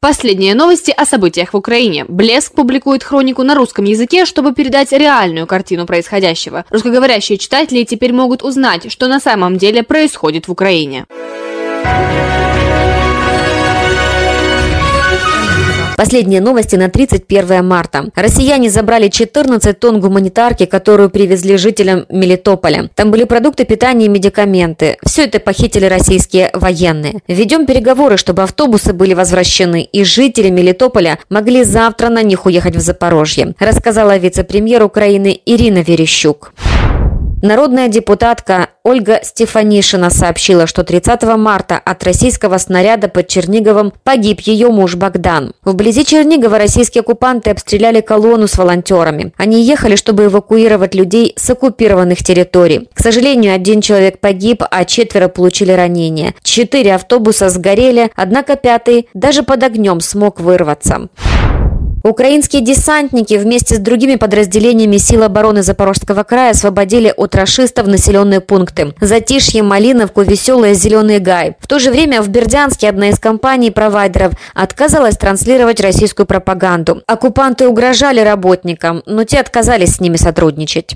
Последние новости о событиях в Украине. Блеск публикует хронику на русском языке, чтобы передать реальную картину происходящего. Русскоговорящие читатели теперь могут узнать, что на самом деле происходит в Украине. Последние новости на 31 марта. Россияне забрали 14 тонн гуманитарки, которую привезли жителям Мелитополя. Там были продукты питания и медикаменты. Все это похитили российские военные. Ведем переговоры, чтобы автобусы были возвращены, и жители Мелитополя могли завтра на них уехать в Запорожье, рассказала вице-премьер Украины Ирина Верещук. Народная депутатка Ольга Стефанишина сообщила, что 30 марта от российского снаряда под Черниговом погиб ее муж Богдан. Вблизи Чернигова российские оккупанты обстреляли колонну с волонтерами. Они ехали, чтобы эвакуировать людей с оккупированных территорий. К сожалению, 1 человек погиб, а 4 получили ранения. 4 автобуса сгорели, однако 5-й даже под огнем смог вырваться. Украинские десантники вместе с другими подразделениями сил обороны Запорожского края освободили от рашистов населенные пункты: Затишье, Малиновку, Веселое, Зеленый Гай. В то же время в Бердянске одна из компаний-провайдеров отказалась транслировать российскую пропаганду. Оккупанты угрожали работникам, но те отказались с ними сотрудничать.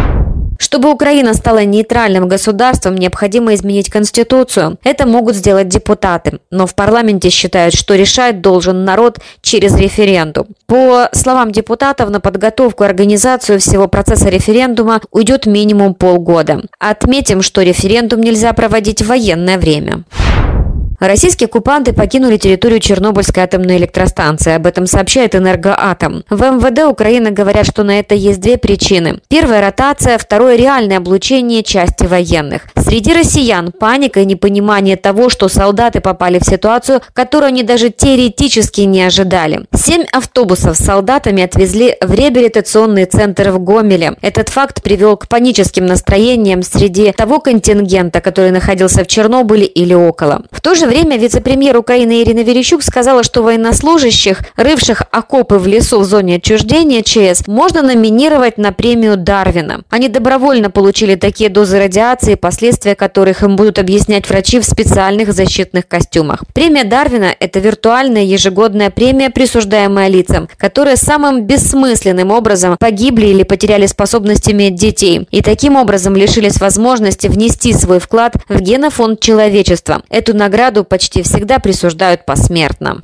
Чтобы Украина стала нейтральным государством, необходимо изменить Конституцию. Это могут сделать депутаты. Но в парламенте считают, что решать должен народ через референдум. По словам депутатов, на подготовку и организацию всего процесса референдума уйдет минимум полгода. Отметим, что референдум нельзя проводить в военное время. Российские оккупанты покинули территорию Чернобыльской атомной электростанции. Об этом сообщает «Энергоатом». В МВД Украины говорят, что на это есть 2 причины. Первая – ротация, второе – реальное облучение части военных. Среди россиян паника и непонимание того, что солдаты попали в ситуацию, которую они даже теоретически не ожидали. 7 автобусов с солдатами отвезли в реабилитационный центр в Гомеле. Этот факт привел к паническим настроениям среди того контингента, который находился в Чернобыле или около. В то же время вице-премьер Украины Ирина Верещук сказала, что военнослужащих, рывших окопы в лесу в зоне отчуждения ЧС, можно номинировать на премию Дарвина. Они добровольно получили такие дозы радиации, последствия которых им будут объяснять врачи в специальных защитных костюмах. Премия Дарвина – это виртуальная ежегодная премия, присуждаемая лицам, которые самым бессмысленным образом погибли или потеряли способность иметь детей, и таким образом лишились возможности внести свой вклад в генофонд человечества. Эту награду почти всегда присуждают посмертно.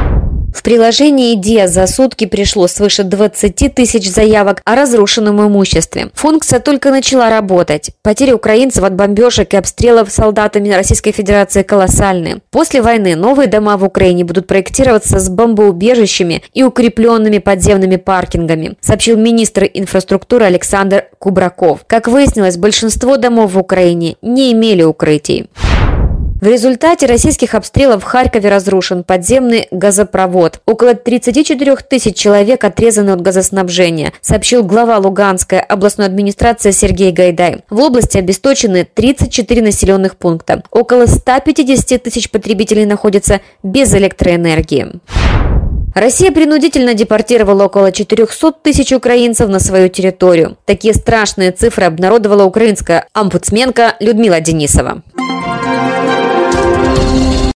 В приложении «Диа» за сутки пришло свыше 20 тысяч заявок о разрушенном имуществе. Функция только начала работать. Потери украинцев от бомбежек и обстрелов солдатами Российской Федерации колоссальны. После войны новые дома в Украине будут проектироваться с бомбоубежищами и укрепленными подземными паркингами, сообщил министр инфраструктуры Александр Кубраков. Как выяснилось, большинство домов в Украине не имели укрытий. В результате российских обстрелов в Харькове разрушен подземный газопровод. Около 34 тысяч человек отрезаны от газоснабжения, сообщил глава Луганской областной администрации Сергей Гайдай. В области обесточены 34 населенных пункта. Около 150 тысяч потребителей находятся без электроэнергии. Россия принудительно депортировала около 400 тысяч украинцев на свою территорию. Такие страшные цифры обнародовала украинская омбудсменка Людмила Денисова.